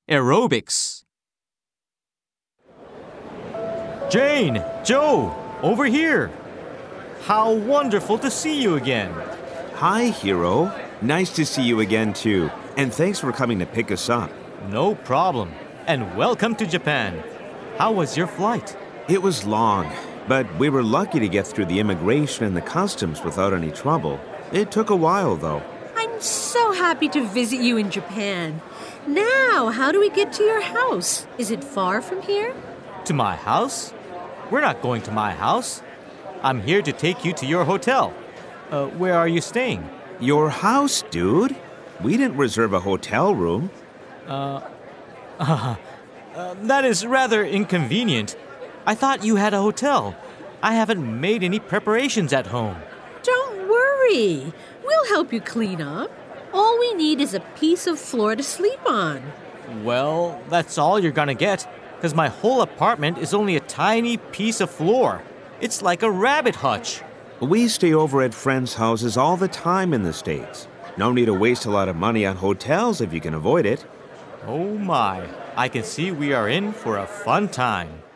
Aerobics. Jane, Joe, over here. How wonderful to see you again. Hi, Hiro. Nice to see you again, too. And thanks for coming to pick us up. No problem. And welcome to Japan. How was your flight? It was long, but we were lucky to get through the immigration and the customs without any trouble. It took a while, though. I'm so happy to visit you in Japan. Now, how do we get to your house? Is it far from here? To my house? We're not going to my house. I'm here to take you to your hotel. Where are you staying? Your house, dude? We didn't reserve a hotel room. That is rather inconvenient. I thought you had a hotel. I haven't made any preparations at home. Don't worry. We'll help you clean up. All we need is a piece of floor to sleep on. Well, that's all you're gonna get, because my whole apartment is only a tiny piece of floor. It's like a rabbit hutch. We stay over at friends' houses all the time in the States. No need to waste a lot of money on hotels if you can avoid it. Oh my, I can see we are in for a fun time.